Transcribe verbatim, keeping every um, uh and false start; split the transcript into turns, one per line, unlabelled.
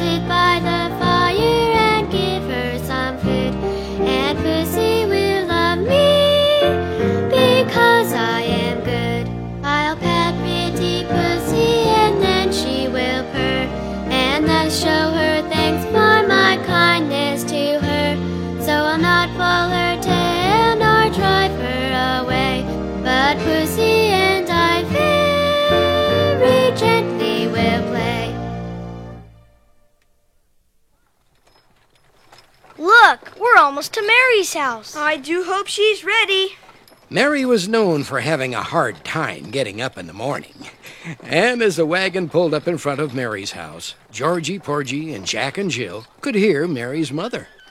sit by the fire and give her some food. And Pussy will love me because I am good. I'll pat pretty Pussy and then she will purr, and thus show her thanks for my kindness to her. So I'll not pull her tail nor drive her away, but Pussy and I very gently will play.
Look, we're almost to Mary's house.
I do hope she's ready.
Mary was known for having a hard time getting up in the morning. And as the wagon pulled up in front of Mary's house, Georgie, Porgy, and Jack and Jill could hear Mary's mother.